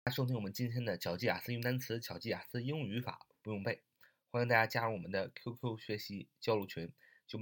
大家收听我们今天的巧记雅思英语单词、巧记雅思英语语法不用背，欢迎大家加入我们的 QQ 学习交流群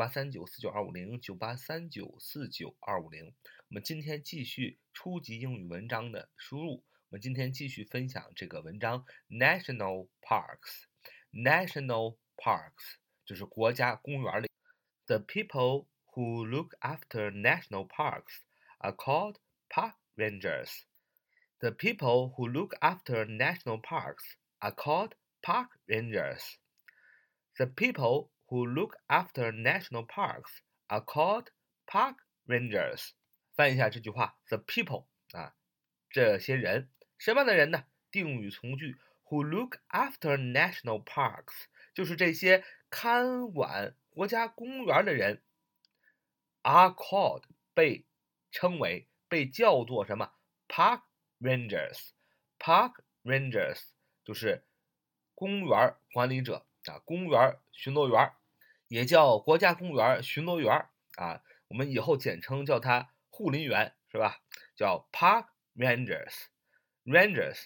983949250983949250。我们今天继续初级英语文章的输入，我们今天继续分享这个文章 National Parks。National Parks 就是国家公园里。The people who look after national parks are called park rangers.The people who look after national parks are called park rangers. The people who look after national parks are called park rangers. 翻译一下这句话 ：The people 这些人，什么样的人呢？定语从句 who look after national parks 就是这些看管国家公园的人 are called 被称为被叫做什么 park rangers。Park rangers 就是公园管理者公园巡逻员，也叫国家公园巡逻员我们以后简称叫他护林员，是吧？叫 park rangers。Rangers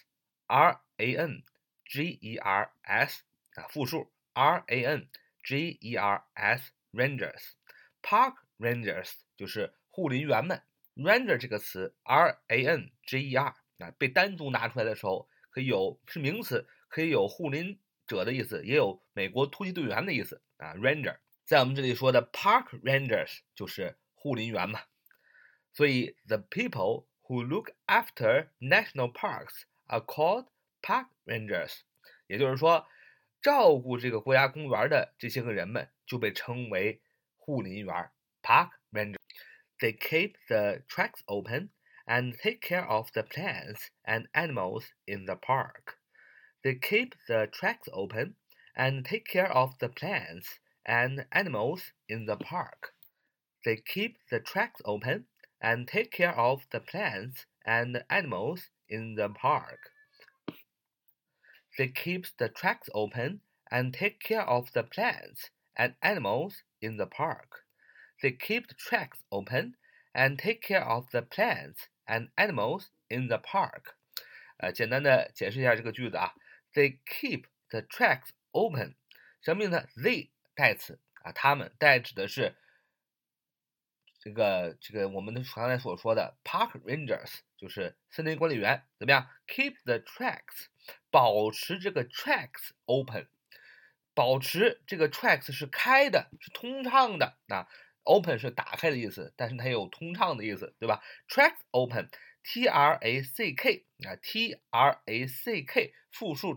R-A-N-G-E-R-S 复数 R-A-N-G-E-R-S Rangers。Park rangers 就是护林员们。Ranger 这个词 R-A-N-G-E-R 被单独拿出来的时候，可以有是名词，可以有护林者的意思，也有美国突击队员的意思Ranger 在我们这里说的 Park Rangers 就是护林员嘛。所以 the people who look after national parks are called park rangers。也就是说，照顾这个国家公园的这些个人们就被称为护林员 Park Rangers。They keep the tracks open and take care of the plants and animals in the park. They keep the tracks open and take care of the plants and animals in the park. They keep the tracks open and take care of the plants and animals in the park. They keep the tracks open and take care of the plants and animals in the park. They keep the tracks open and take care of the plants and animals in the park. 简单的解释一下这个句子They keep the tracks open， 什么意思呢 ？They 代词他们代指的是这个我们刚才所说的 park rangers， 就是森林管理员。怎么样 ？Keep the tracks， 保持这个 tracks open， 保持这个 tracks 是开的，是通畅的open 是打开的意思，但是它也有通畅的意思，对吧 ？Tracks open，T-R-A-C-K T-R-A-C-K 复数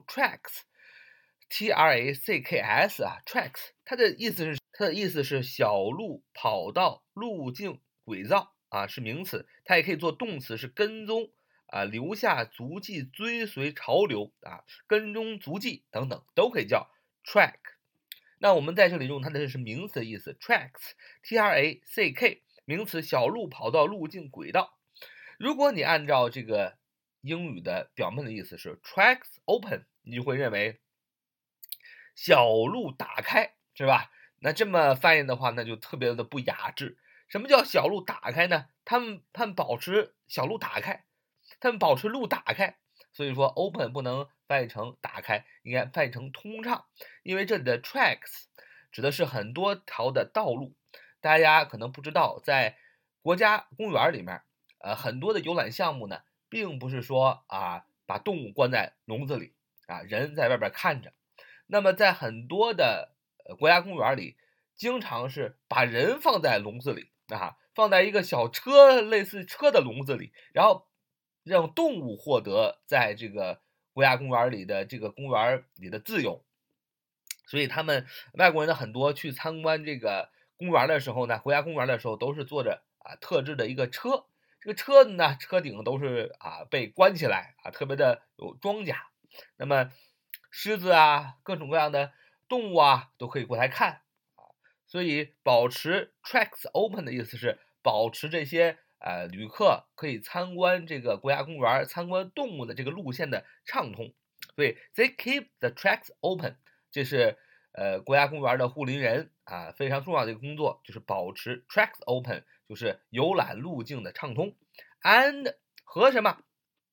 tracks，T-R-A-C-K-S tracks 它的意思是小路、跑道、路径、轨道是名词，它也可以做动词，是跟踪留下足迹、追随潮流跟踪足迹等等都可以叫 track。那我们在这里用它的是名词的意思 tracks T-R-A-C-K 名词小路、跑道、路径、轨道。如果你按照这个英语的表面的意思是 tracks open， 你就会认为小路打开，是吧？那这么翻译的话，那就特别的不雅致。什么叫小路打开呢？他们保持小路打开，他们保持路打开。所以说 open 不能翻译成打开，应该翻译成通畅，因为这里的 tracks 指的是很多条的道路。大家可能不知道，在国家公园里面，很多的游览项目呢，并不是说把动物关在笼子里人在外边看着。那么在很多的国家公园里，经常是把人放在笼子里放在一个小车类似车的笼子里，然后让动物获得在这个国家公园里的这个公园里的自由。所以他们外国人的很多去参观这个公园的时候呢，国家公园的时候都是坐着特制的一个车，这个车子呢车顶都是被关起来特别的有装甲。那么狮子各种各样的动物都可以过来看所以保持 tracks open 的意思是保持这些旅客可以参观这个国家公园、参观动物的这个路线的畅通。所以 they keep the tracks open， 这是国家公园的护林人非常重要的一个工作，就是保持 tracks open， 就是游览路径的畅通。And 和什么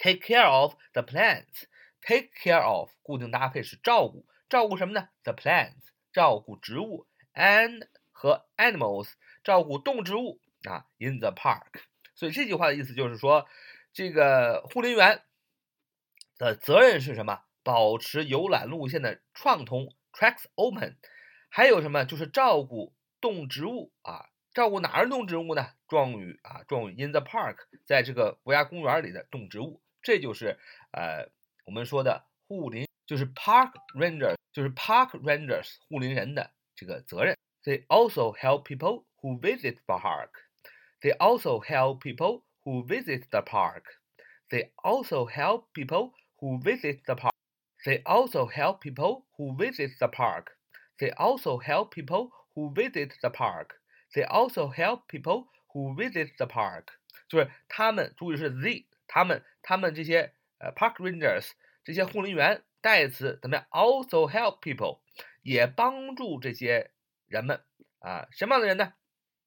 take care of the plants。 take care of 固定搭配是照顾，照顾什么呢？ the plants 照顾植物 ，and 和 animals 照顾动植物啊 in the park。所以这句话的意思就是说，这个护林员的责任是什么？保持游览路线的畅通 tracks open。 还有什么？就是照顾动植物啊，照顾哪儿动植物呢？状语啊，状语 in the park， 在这个国家公园里的动植物，这就是我们说的护林，就是 park ranger， 就是 park rangers 护林人的这个责任。They also help people who visit the park. They also help people who visit the park. They also help people who visit the park. They also help people who visit the park. They also help people who visit the park. They also help people who visit the park。 就是他们，注意是 they， 他们这些park rangers 这些护林员代词怎么样 ？also help people 也帮助这些人们啊，什么样的人呢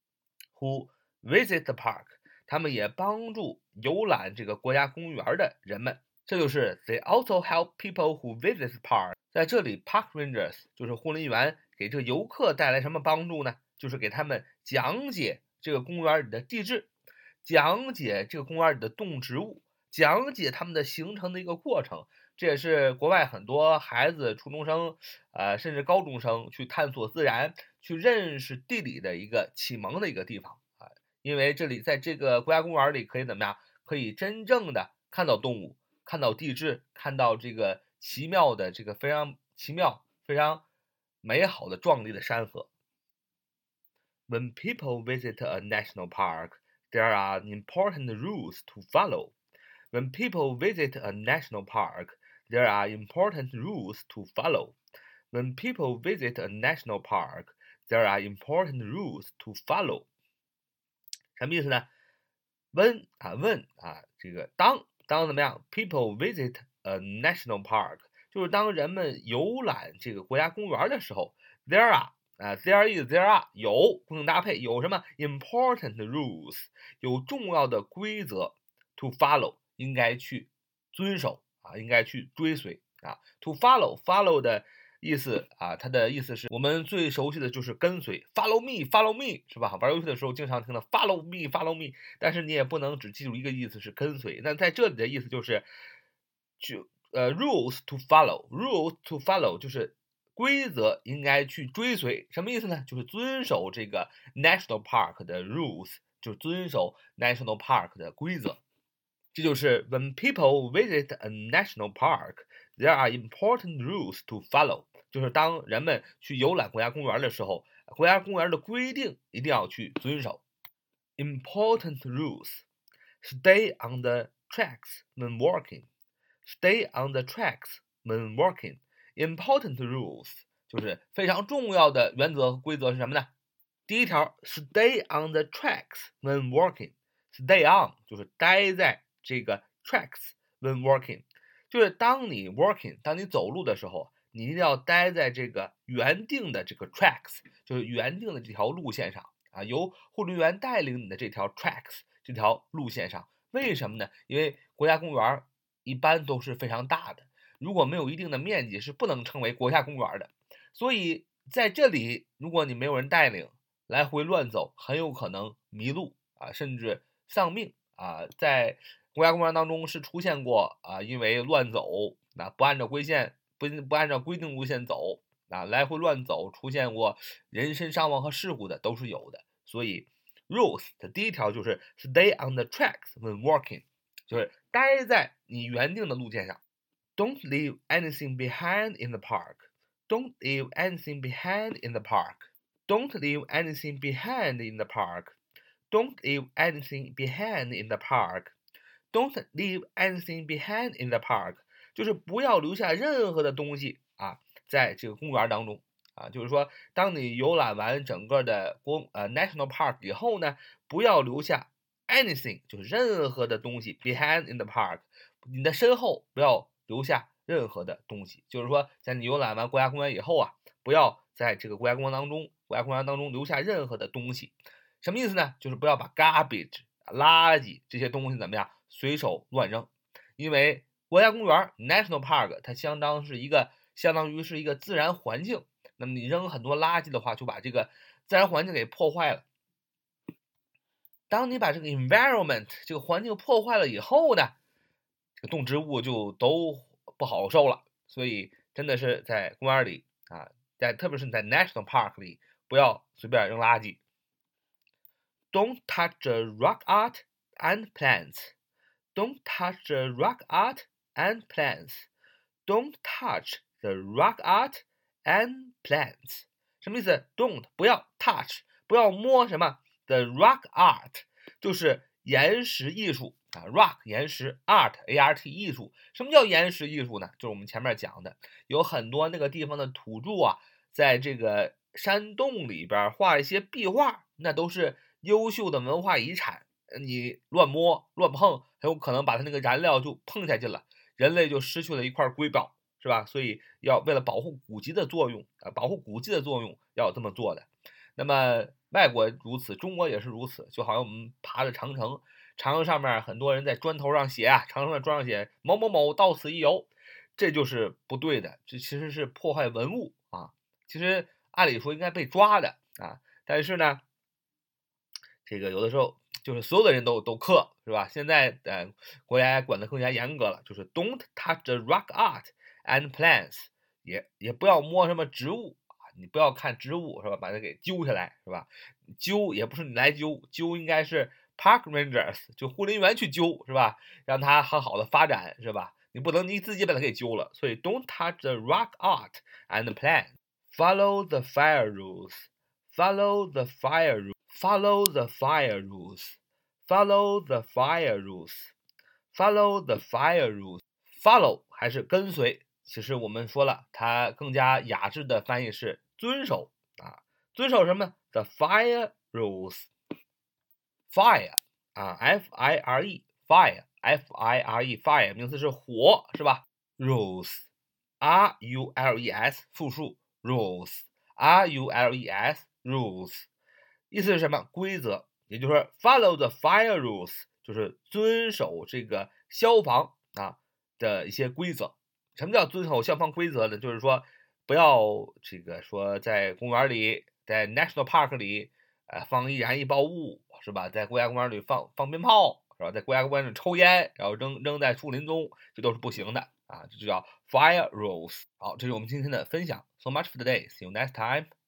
？who visit the park， 他们也帮助游览这个国家公园的人们。这就是 they also help people who visit the park。 在这里 park rangers 就是护林员给这个游客带来什么帮助呢？就是给他们讲解这个公园里的地质，讲解这个公园里的动植物，讲解它们的形成的一个过程。这也是国外很多孩子、初中生，甚至高中生去探索自然、去认识地理的一个启蒙的一个地方啊。因为这里在这个国家公园里可以怎么样？可以真正的看到动物，看到地质，看到这个奇妙的这个非常奇妙、非常美好的壮丽的山河。When people visit a national park, there are important rules to follow. When people visit a national park, there are important rules to follow. When people visit a national park, there are important rules to follow. 什么意思呢？ when 这个当怎么样 ？People visit a national park， 就是当人们游览这个国家公园的时候 ，there are 有固定搭配，有什么 important rules， 有重要的规则 to follow， 应该去遵守啊，应该去追随啊。to follow 的意思啊，它的意思是我们最熟悉的就是跟随 ，follow me， 是吧？玩游戏的时候经常听到 follow me， 但是你也不能只记住一个意思是跟随。那在这里的意思就是rules to follow 就是规则应该去追随，什么意思呢？就是遵守这个 national park 的 rules， 就是遵守 national park 的规则。这就是 when people visit a national park, there are important rules to follow。就是当人们去游览国家公园的时候，国家公园的规定一定要去遵守。Important rules: stay on the tracks when walking. Stay on the tracks when walking. Important rules 就是非常重要的原则和规则是什么呢？第一条 ，stay on the tracks when walking. Stay on 就是待在这个 tracks when walking， 就是当你 walking， 当你走路的时候，你一定要待在这个原定的这个 tracks， 就是原定的这条路线上啊，由护林员带领你的这条 tracks 这条路线上。为什么呢？因为国家公园一般都是非常大的，如果没有一定的面积是不能称为国家公园的。所以在这里，如果你没有人带领，来回乱走，很有可能迷路啊，甚至丧命啊。在国家公园当中是出现过啊，因为乱走，不按照不按照规定路线走啊，来回乱走，出现过人身伤亡和事故的都是有的。所以 rules 的第一条就是 stay on the tracks when walking， 就是待在你原定的路线上。Don't leave anything behind in the park. Don't leave anything behind in the park. Don't leave anything behind in the park. Don't leave anything behind in the park. Don't leave anything behind in the park， 就是不要留下任何的东西啊，在这个公园当中啊，就是说，当你游览完整个的national park 以后呢，不要留下 anything， 就是任何的东西 behind in the park， 你的身后不要留下任何的东西，就是说，在你游览完国家公园以后啊，不要在这个国家公园当中留下任何的东西。什么意思呢？就是不要把 garbage 垃圾这些东西怎么样随手乱扔。 因为国家公园 national park 它相当于是一个自然环境，那么你扔很多垃圾的话，就把这个自然环境给破坏了。当你把这个 environment 这个环境破坏了以后呢，这个动植物就都不好受了。所以真的是在公园里啊，特别是在 national park 里，不要随便扔垃圾。Don't touch the rock art and plants. Don't touch the rock art and plants. Don't touch the rock art and plants. 什么意思 ？Don't 不要 touch 不要摸什么 the rock art 就是岩石艺术啊 ，rock 岩石 art art 艺术。什么叫岩石艺术呢？就是我们前面讲的，有很多那个地方的土著啊，在这个山洞里边画一些壁画，那都是优秀的文化遗产。你乱摸乱碰，很有可能把它那个燃料就碰下去了，人类就失去了一块瑰宝，是吧？所以要为了保护古迹的作用保护古迹的作用要这么做的。那么外国如此，中国也是如此。就好像我们爬着长城，长城上面很多人在砖头上写啊，长城的砖上写某某某到此一游，这就是不对的，这其实是破坏文物啊。其实按理说应该被抓的啊，但是呢，这个有的时候就是所有的人都克，是吧？现在国家管得更加严格了，就是 don't touch the rock art and plants， 也不要摸什么植物啊，你不要看植物是吧？把它给揪下来是吧？揪也不是你来揪，揪应该是 park rangers 就护林员去揪是吧？让它很好的发展是吧？你不能你自己把它给揪了，所以 don't touch the rock art and plants。Follow the fire rules. Follow the fire rules. Follow the fire rules. Follow the fire rules. Follow the fire rules. Follow 还是跟随？其实我们说了，它更加雅致的翻译是遵守啊，遵守什么 ？The fire rules. Fire 啊，F-I-R-E fire F-I-R-E fire 名词是火是吧 ？Rules R-U-L-E-S 复数 rules R-U-L-E-S rules 意思是什么？规则，也就是说 follow the fire rules 就是遵守这个消防的一些规则。什么叫遵守消防规则呢？就是说不要这个说在公园里，在 national park 里放易燃易爆物是吧？在国家公园里放鞭炮是吧？在国家公园里抽烟，然后扔在树林中，这都是不行的啊！这就叫 fire rules。好，这是我们今天的分享。So much for today. See you next time.